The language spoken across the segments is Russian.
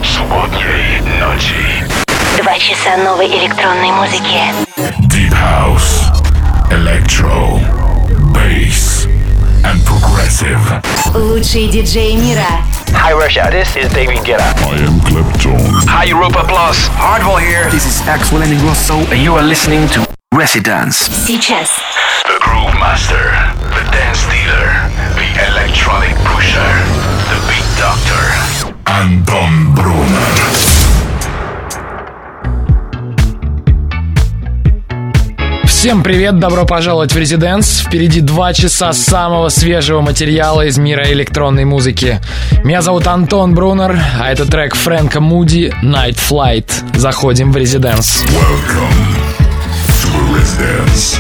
Субботней ночи. 2 часа новой электронной музыки. Deep House, Electro, Bass and Progressive. Лучшие диджеи мира. Hi Russia, this is David Guetta. I am Clapton. Hi Europa Plus, Hardwell here. This is Axel and Ingrosso, and you are listening to Residence. Сейчас. The Groove Master, the Dance Dealer, the Electronic Pusher, the Beat Doctor, Anton Brunner. Всем привет, добро пожаловать в Residence. Впереди 2 часа самого свежего материала из мира электронной музыки. Меня зовут Антон Брунер, а это трек Фрэнка Муди «Night Flight». Заходим в Residence. Welcome to Residence.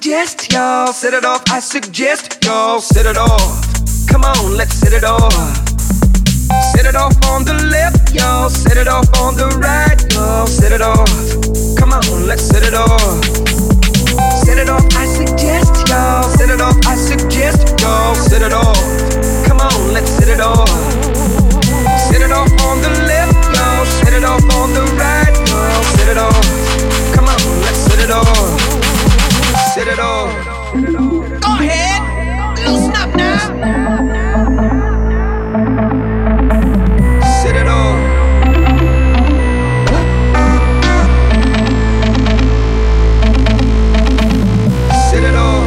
suggest y'all set it off. I suggest y'all set it off. Come on, let's set it off. Set it off on the left, y'all. Set it off on the right, y'all. Set it off. Come on, let's set it off. Set it off, I suggest y'all. Set it off, I suggest y'all. Set it off. Come on, let's set it off. Set it off on the left, y'all. Set it off on the right, y'all. Set it off. Come on, let's set it off. Set it off. Go ahead, loosen up now. Set it off. Set it off.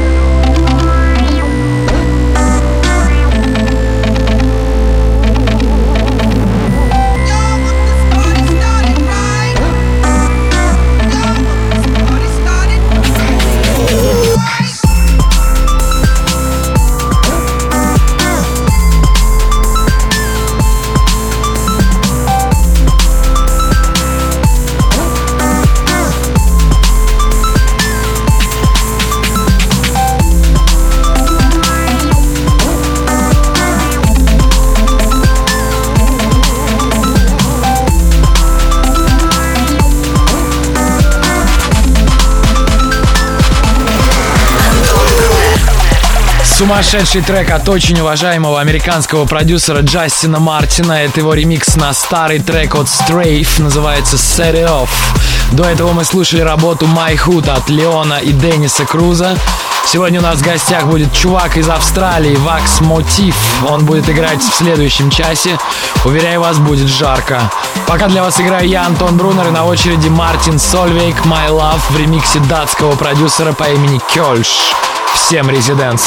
Сумасшедший трек от очень уважаемого американского продюсера Джастина Мартина. Это его ремикс на старый трек от Strafe, называется Set It Off. До этого мы слушали работу My Hood от Леона и Денниса Круза. Сегодня у нас в гостях будет чувак из Австралии, Wax Motif. Он будет играть в следующем часе. Уверяю вас, будет жарко. Пока для вас играю я, Антон Брунер, и на очереди Мартин Сольвейк, My Love в ремиксе датского продюсера по имени Кёльш. Всем резиденс!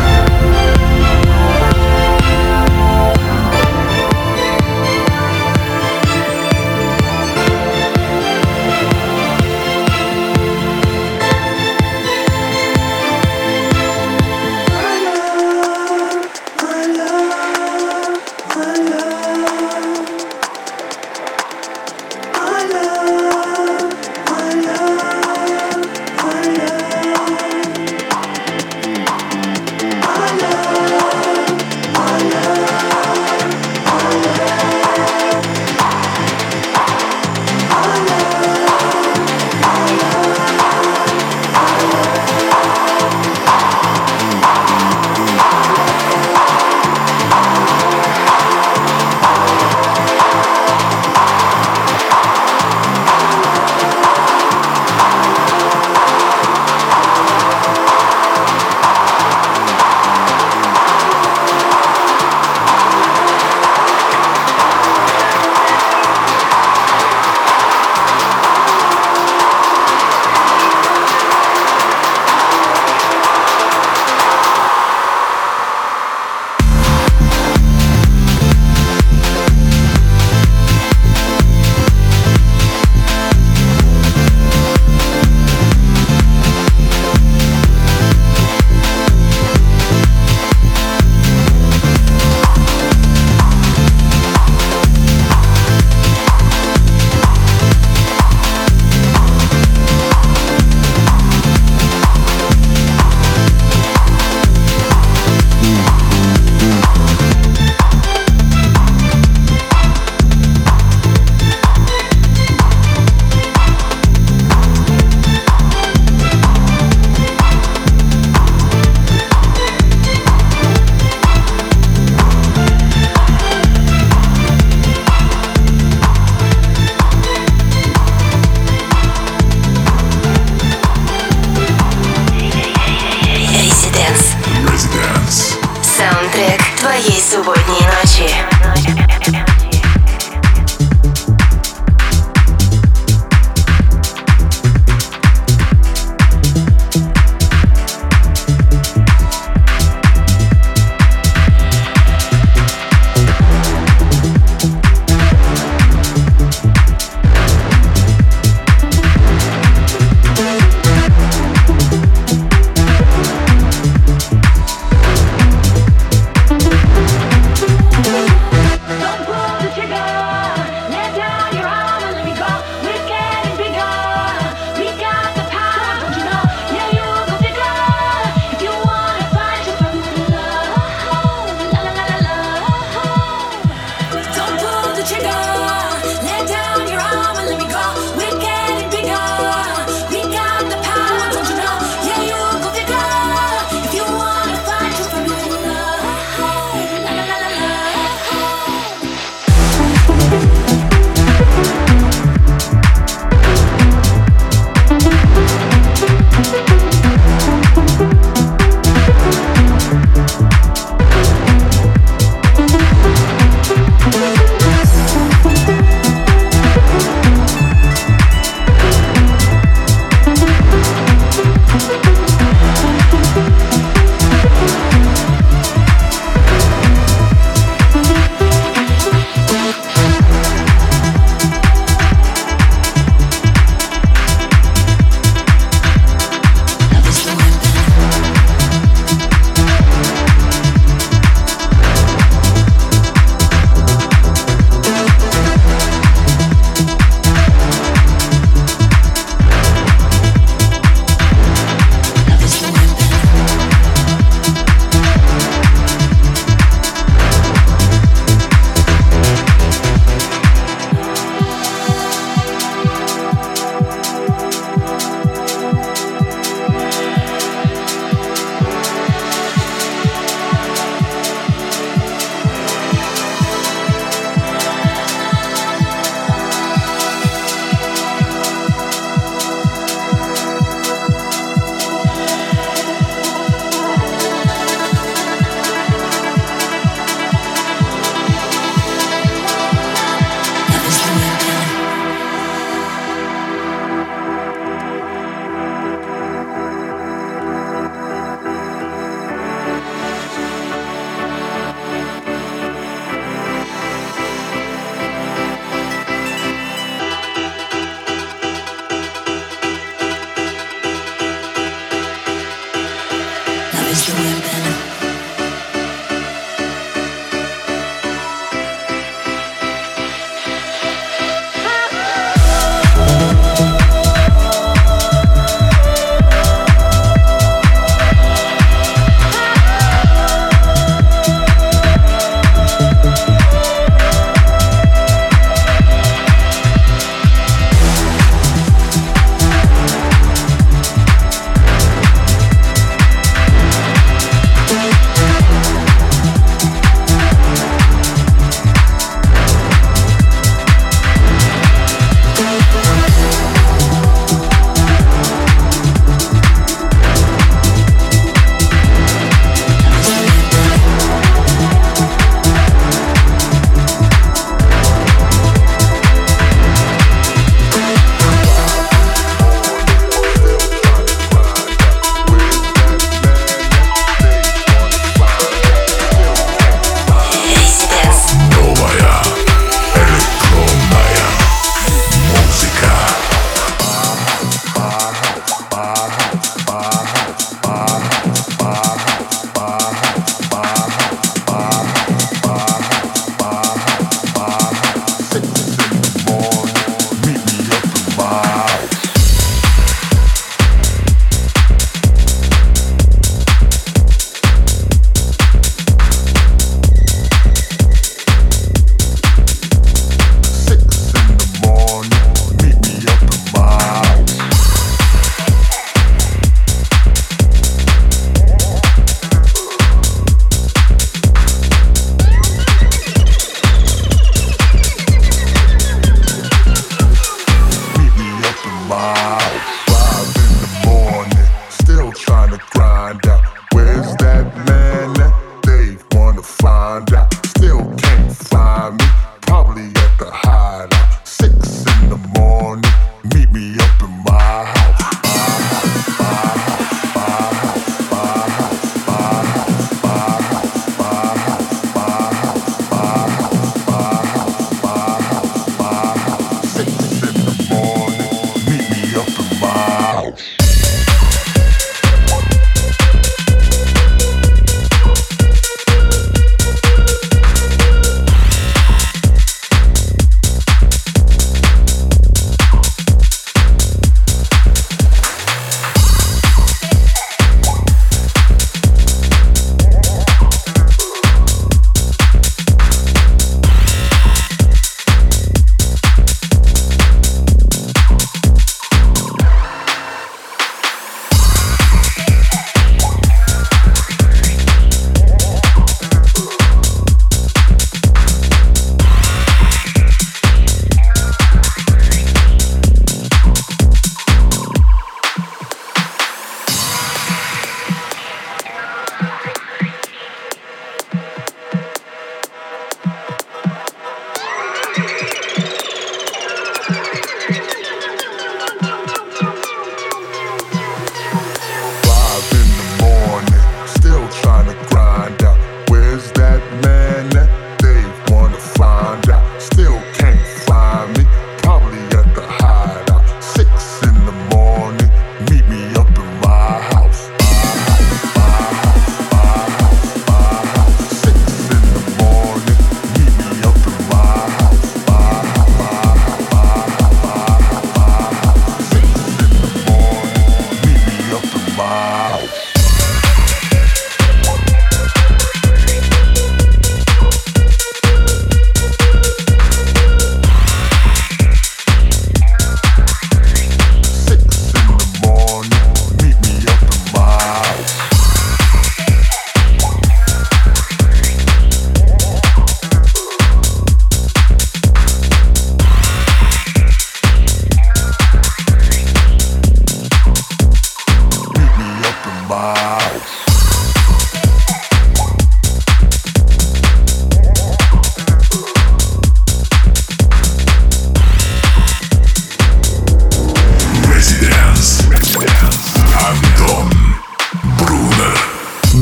Субботней ночи.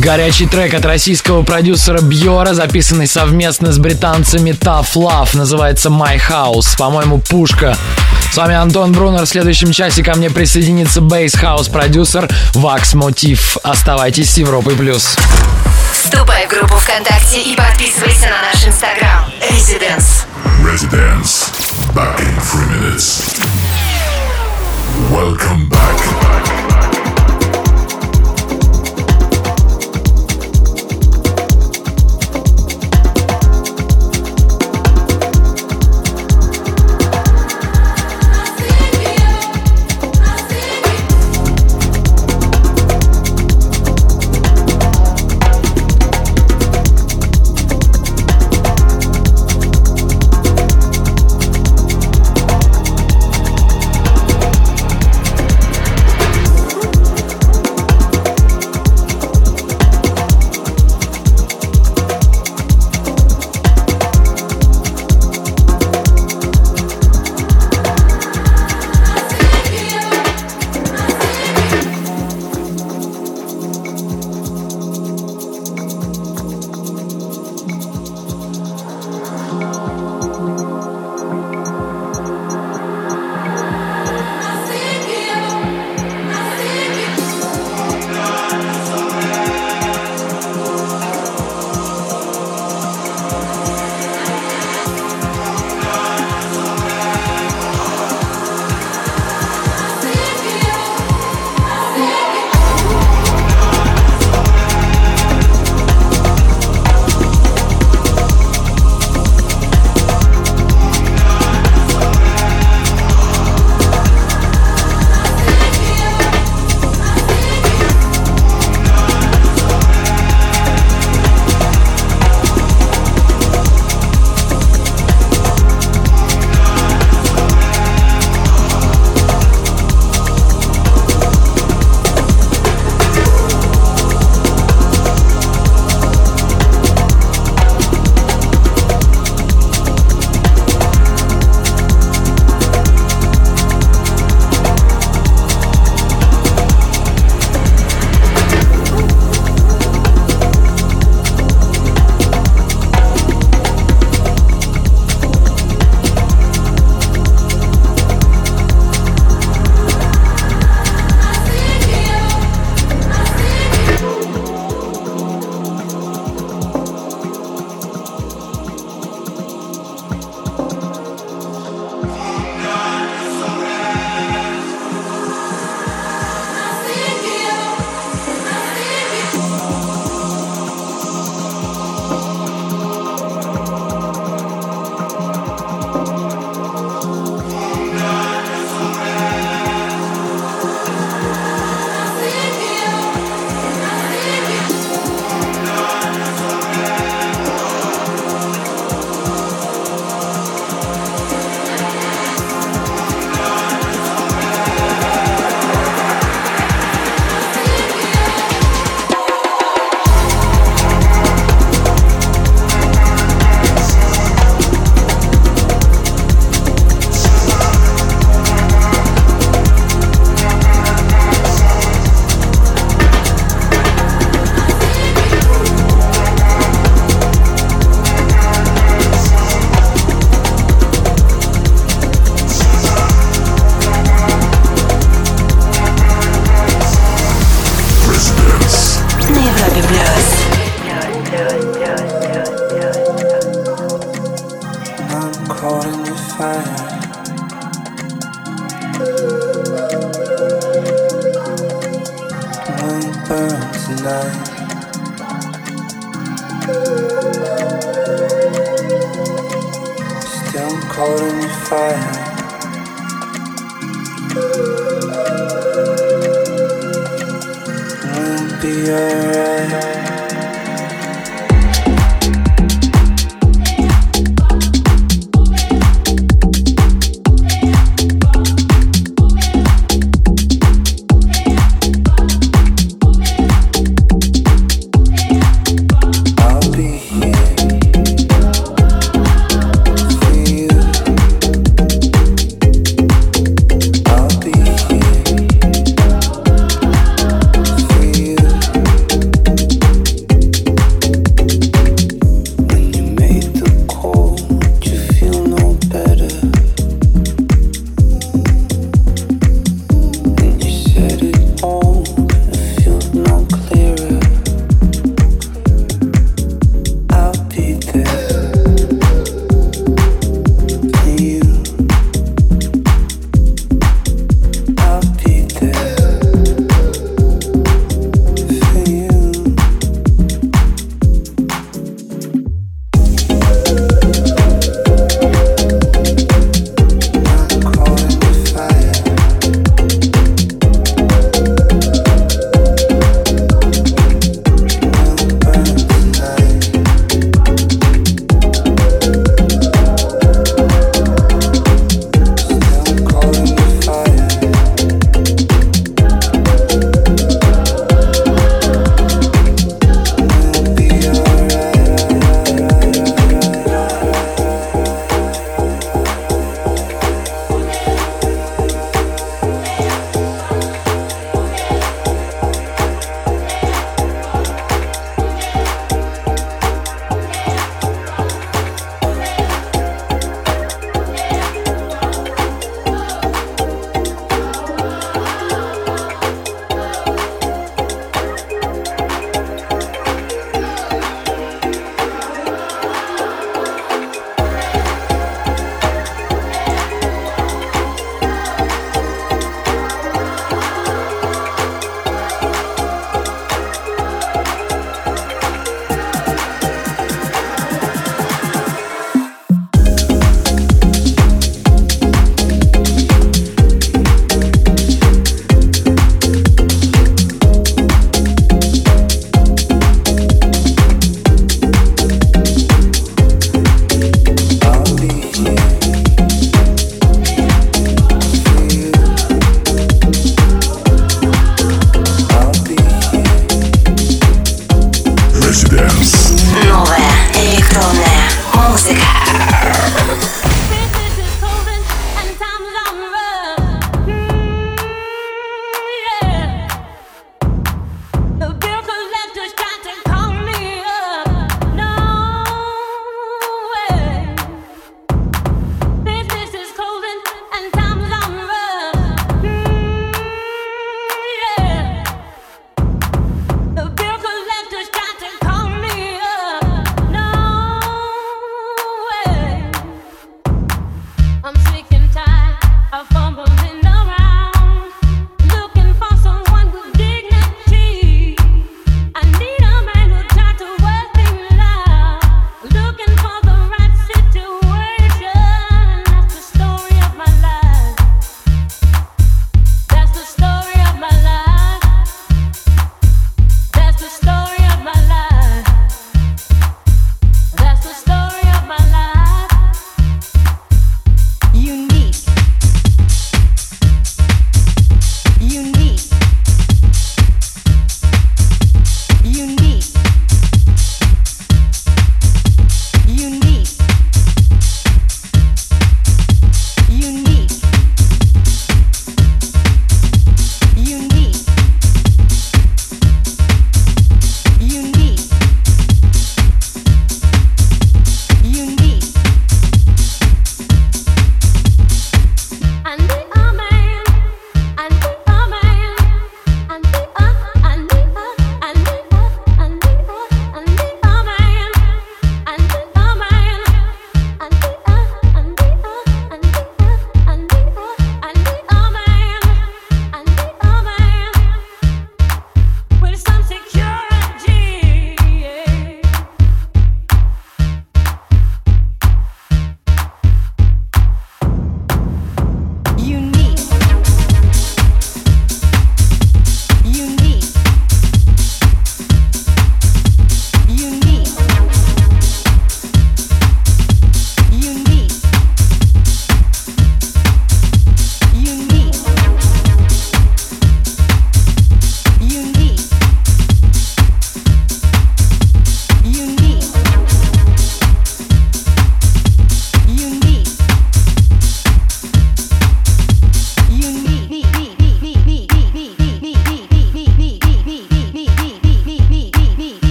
Горячий трек от российского продюсера Бьора, записанный совместно с британцами Tough Love, называется My House. По-моему, пушка. С вами Антон Брунер. В следующем часе ко мне присоединится бейс-хаус-продюсер Wax Motif. Оставайтесь с Европой+. Вступай в группу ВКонтакте и подписывайся на наш Инстаграм. Residence. Residence. Back in 3 minutes. Welcome back.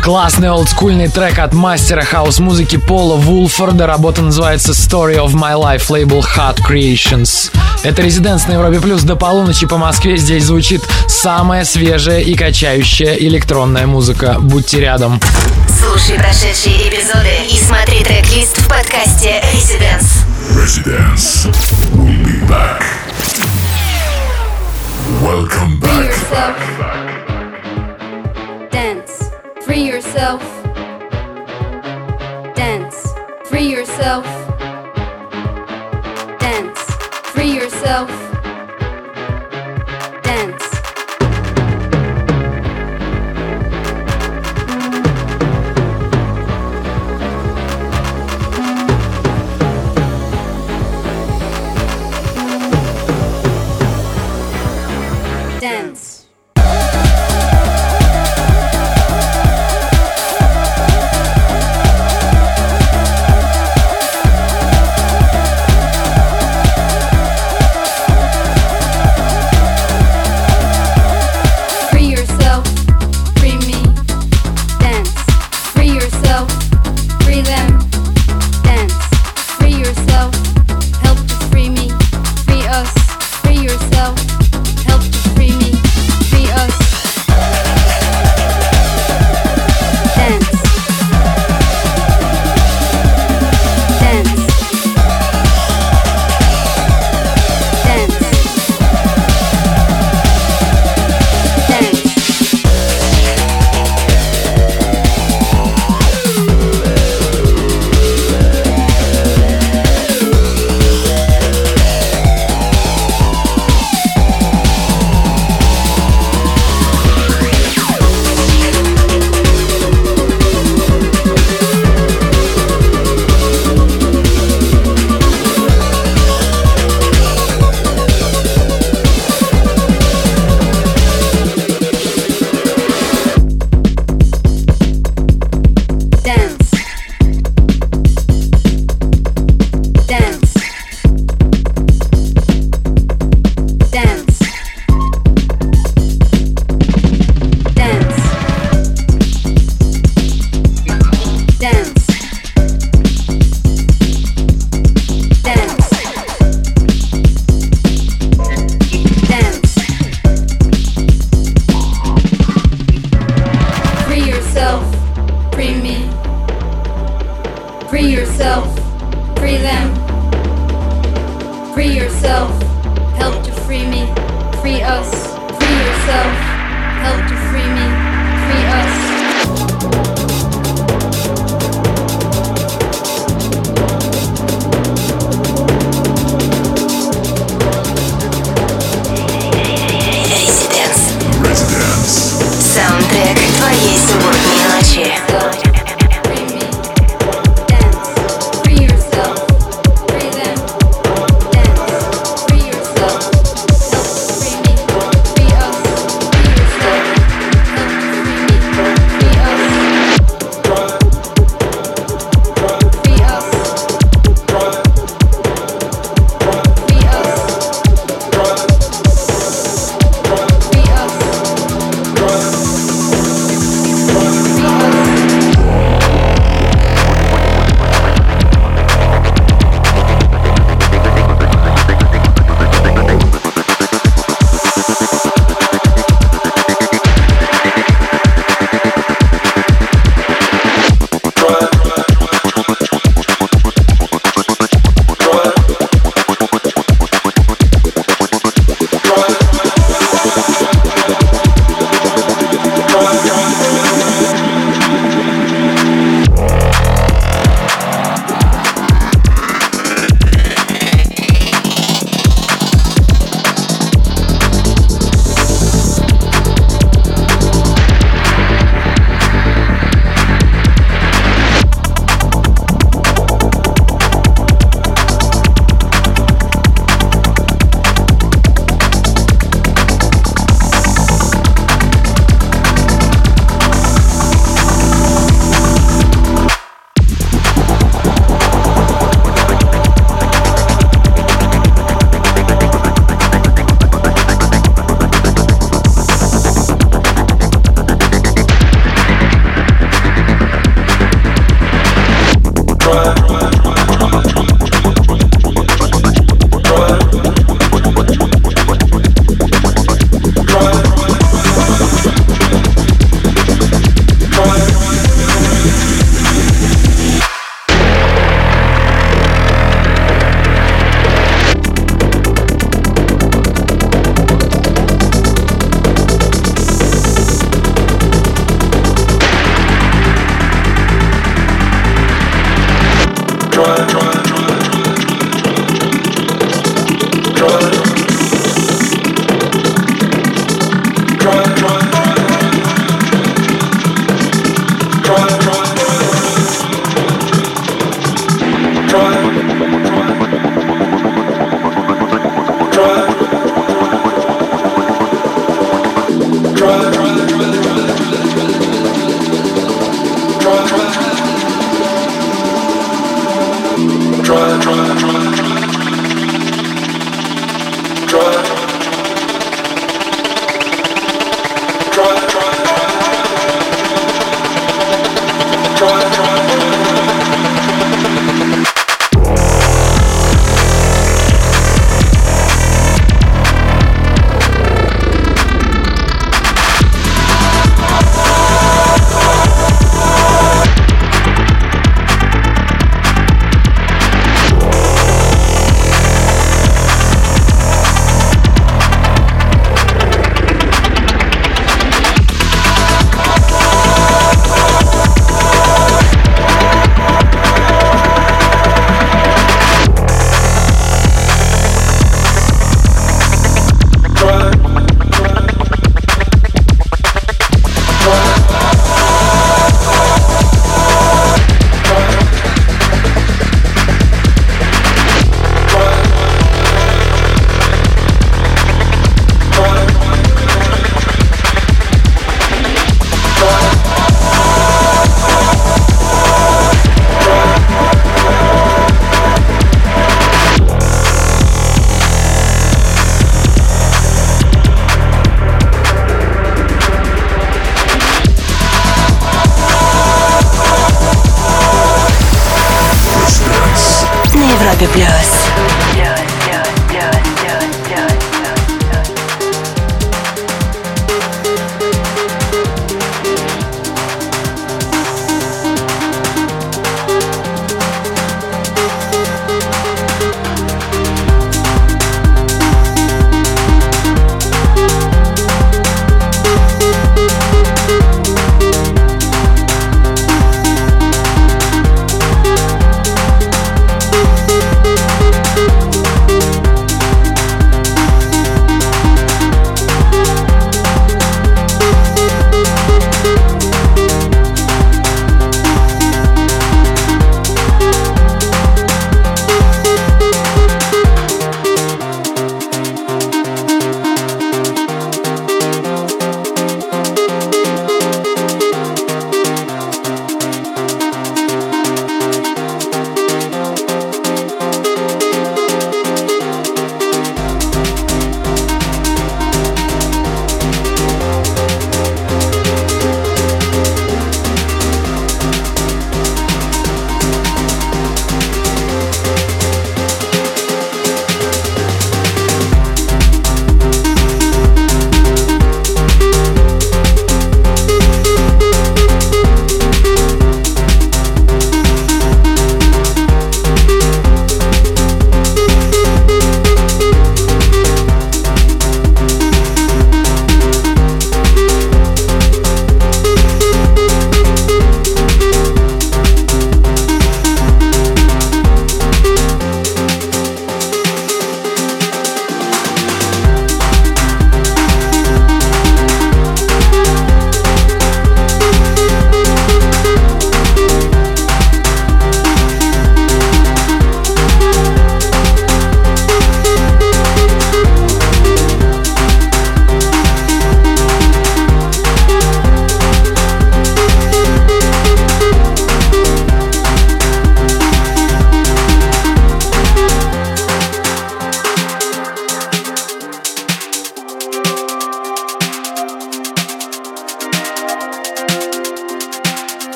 Классный олдскульный трек от мастера хаус-музыки Пола Вулфорда. Работа называется Story of My Life, лейбл Hot Creations. Это Резиденс на Европе Плюс до полуночи по Москве. Здесь звучит самая свежая и качающая электронная музыка. Будьте рядом. Слушай прошедшие эпизоды и смотри трек-лист в подкасте Residence. Residence will be back. Welcome back. Free yourself. Dance. Free yourself. Dance. Free yourself. Dance. Dance.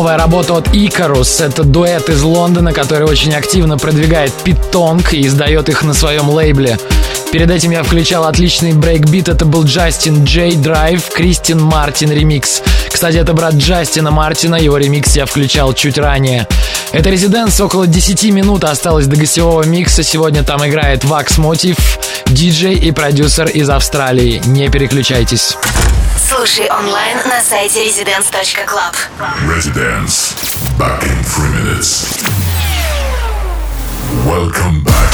Новая работа от Icarus. Это дуэт из Лондона, который очень активно продвигает Питонг и издает их на своем лейбле. Перед этим я включал отличный брейкбит. Это был Джастин Джей Драйв, Кристин Мартин ремикс. Кстати, это брат Джастина Мартина, его ремикс я включал чуть ранее. Это Residence, около 10 минут осталось до гостевого микса. Сегодня там играет Wax Motif, диджей и продюсер из Австралии. Не переключайтесь. Слушай онлайн на сайте residence.club. Residence. Back in 3 minutes. Welcome back.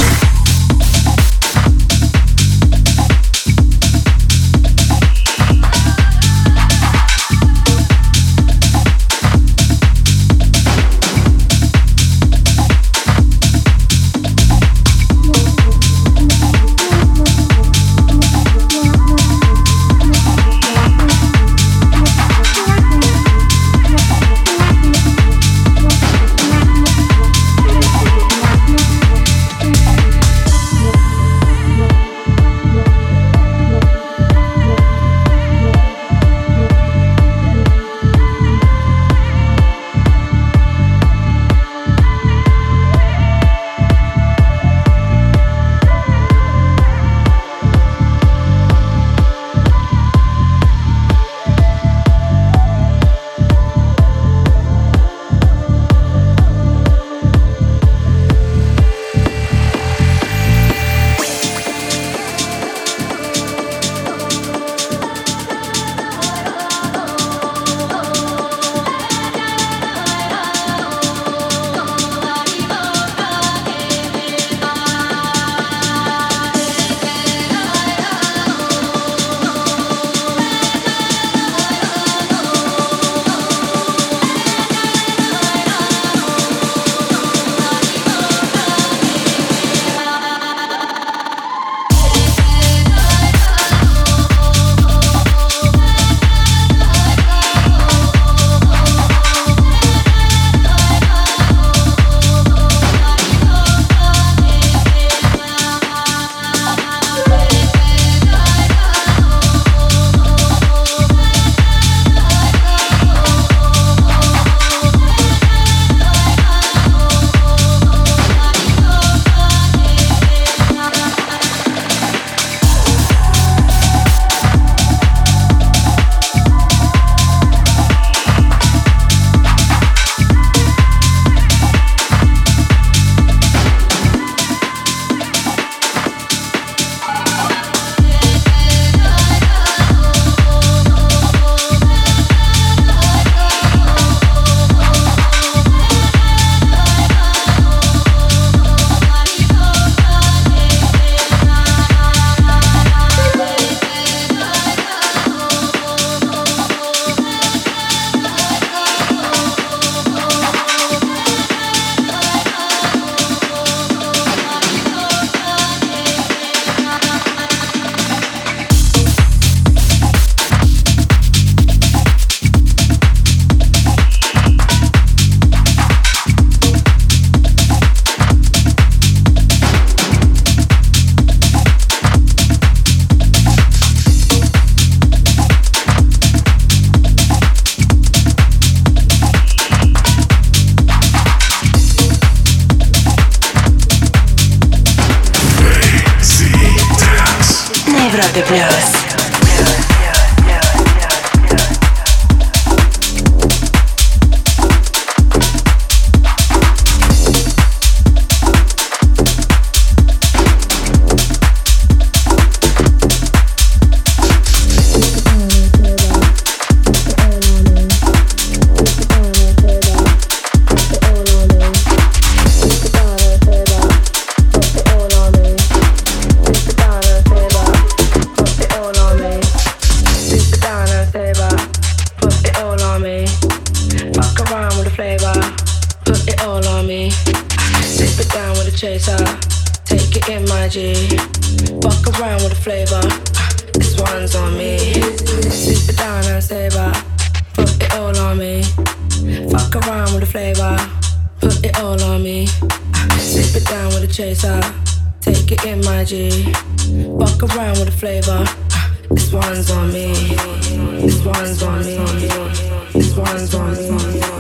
This one's on me.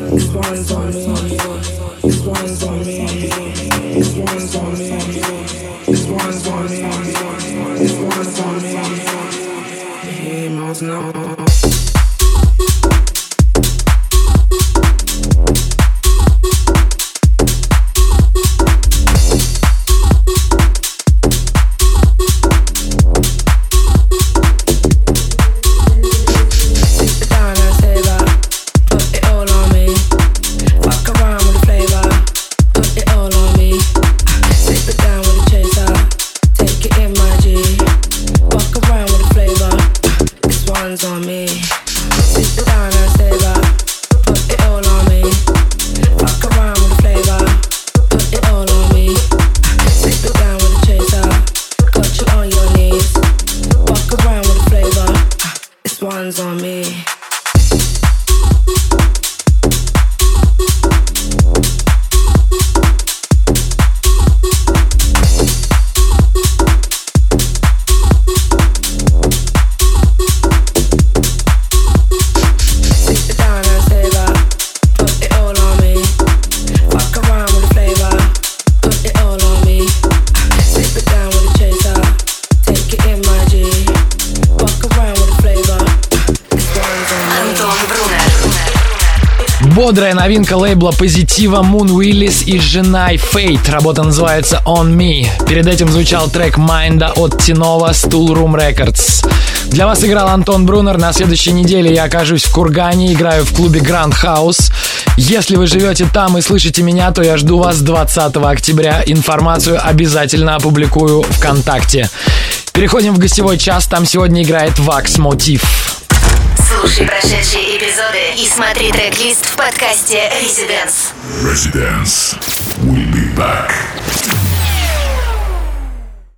Бодрая новинка лейбла Позитива Moon Willis и Женай Fate. Работа называется On Me. Перед этим звучал трек Майнда от Тинова Stool Room Records. Для вас играл Антон Брунер. На следующей неделе я окажусь в Кургане, играю в клубе Grand House. Если вы живете там и слышите меня, то я жду вас 20 октября. Информацию обязательно опубликую ВКонтакте. Переходим в гостевой час. Там сегодня играет Wax Motif. Слушай прошедшие эпизоды и смотри трек-лист в подкасте Residence. Residence. We'll be back.